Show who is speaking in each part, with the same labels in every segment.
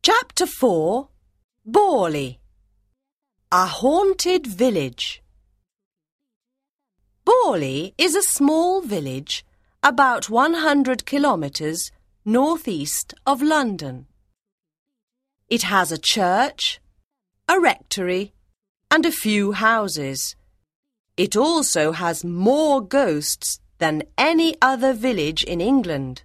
Speaker 1: Chapter 4 Borley, a haunted village. Borley is a small village about 100 kilometres northeast of London. It has a church, a rectory, and a few houses. It also has more ghosts than any other village in England.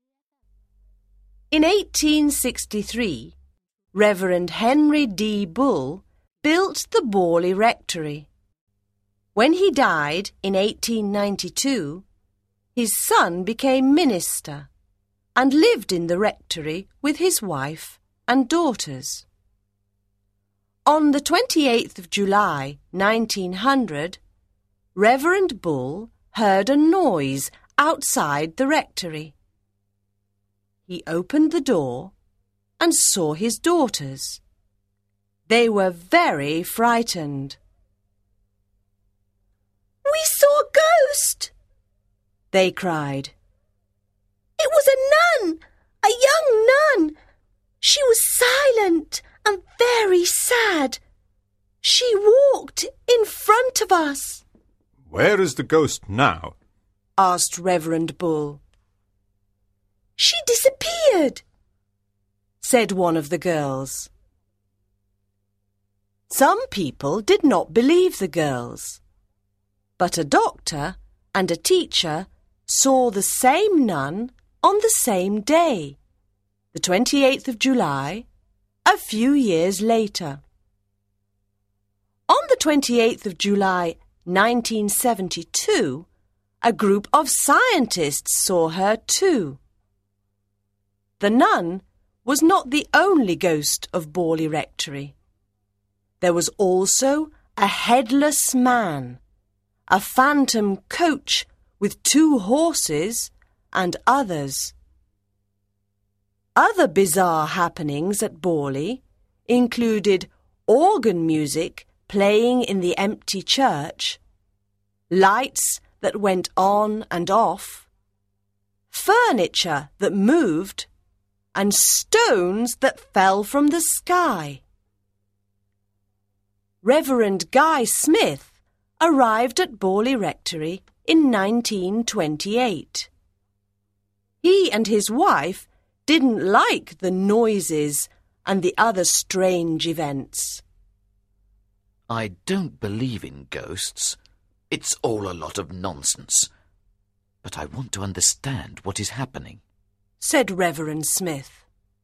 Speaker 1: In 1863, Reverend Henry D. Bull built the Borley Rectory. When he died in 1892, his son became minister and lived in the rectory with his wife and daughters. On the 28th of July, 1900, Reverend Bull heard a noise outside the rectory. He opened the door and saw his daughters. They were very frightened.
Speaker 2: "We saw a ghost!"
Speaker 1: they cried.
Speaker 2: "It was a nun, a young nun. She was silent and very sad. She walked in front of us."
Speaker 3: "Where is the ghost now?"
Speaker 1: asked Reverend Bull.
Speaker 2: "She disappeared,"
Speaker 1: said one of the girls. Some people did not believe the girls, but a doctor and a teacher saw the same nun on the same day, the 28th of July, a few years later. On the 28th of July, 1972, a group of scientists saw her too. The nun was not the only ghost of Borley Rectory. There was also a headless man, a phantom coach with 2 horses, and others. Other bizarre happenings at Borley included organ music playing in the empty church, lights that went on and off, furniture that moved, and stones that fell from the sky. Reverend Guy Smith arrived at Borley Rectory in 1928. He and his wife didn't like the noises and the other strange events.
Speaker 4: "I don't believe in ghosts. It's all a lot of nonsense. But I want to understand what is happening,"
Speaker 1: said Reverend Smith.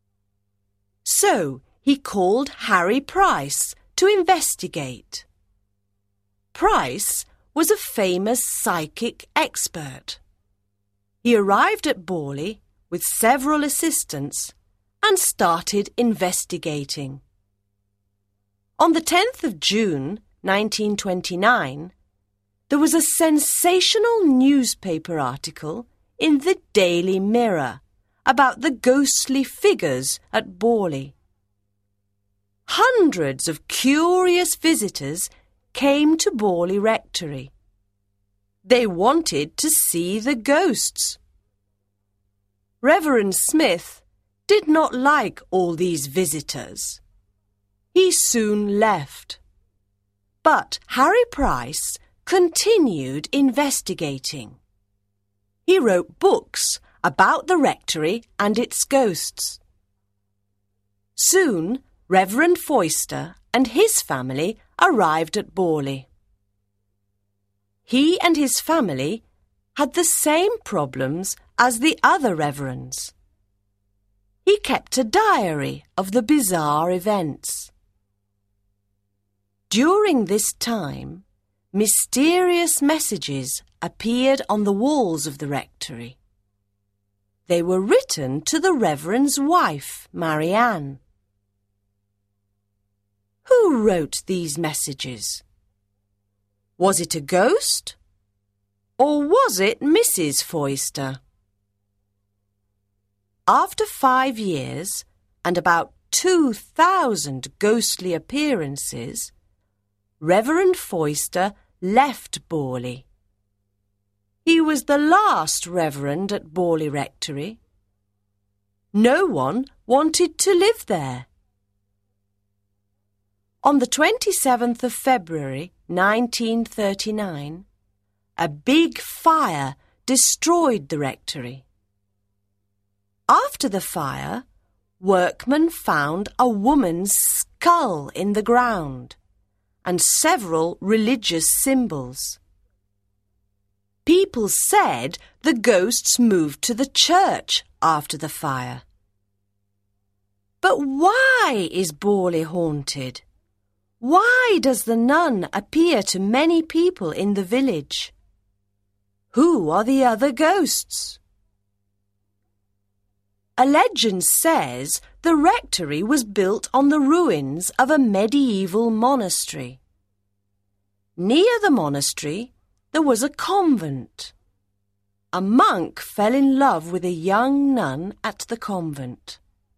Speaker 1: So he called Harry Price to investigate. Price was a famous psychic expert. He arrived at Borley with several assistants and started investigating. On the 10th of June, 1929, there was a sensational newspaper article in the Daily Mirror about the ghostly figures at Borley. Hundreds of curious visitors came to Borley Rectory. They wanted to see the ghosts. Reverend Smith did not like all these visitors. He soon left. But Harry Price continued investigating. He wrote books about the rectory and its ghosts. Soon, Reverend Foyster and his family arrived at Borley. He and his family had the same problems as the other reverends. He kept a diary of the bizarre events. During this time, mysterious messages appeared on the walls of the rectory. They were written to the reverend's wife, Marianne. Who wrote these messages? Was it a ghost? Or was it Mrs. Foyster? After 5 years and about 2,000 ghostly appearances, Reverend Foyster left Borley. He was the last reverend at Borley Rectory. No one wanted to live there. On the 27th of February 1939, a big fire destroyed the rectory. After the fire, workmen found a woman's skull in the ground and several religious symbols. People said the ghosts moved to the church after the fire. But why is Borley haunted? Why does the nun appear to many people in the village? Who are the other ghosts? A legend says the rectory was built on the ruins of a medieval monastery. Near the monastery, there was a convent. A monk fell in love with a young nun at the convent.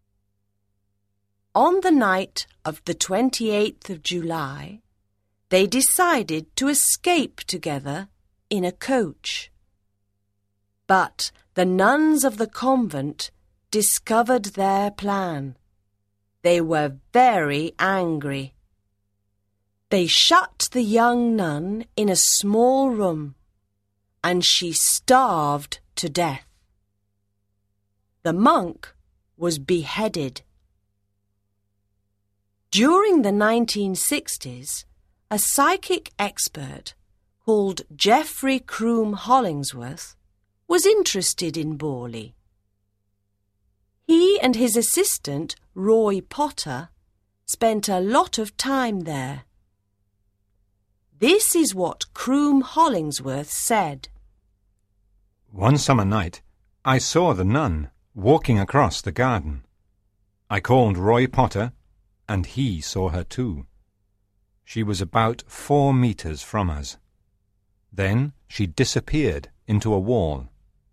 Speaker 1: On the night of the 28th of July, they decided to escape together in a coach. But the nuns of the convent discovered their plan. They were very angry. They shut the young nun in a small room, and she starved to death. The monk was beheaded. During the 1960s, a psychic expert called Geoffrey Croom Hollingsworth was interested in Borley. He and his assistant, Roy Potter, spent a lot of time there. This is what Croom Hollingsworth said.
Speaker 3: One summer night, I saw the nun walking across the garden. I called Roy Potter, and he saw her too. She was about 4 meters from us. Then she disappeared into a wall.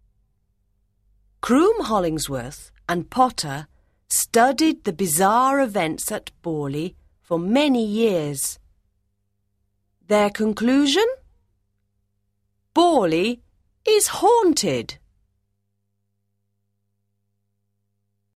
Speaker 1: Croom Hollingsworth and Potter studied the bizarre events at Borley for many years. Their conclusion? Borley is haunted.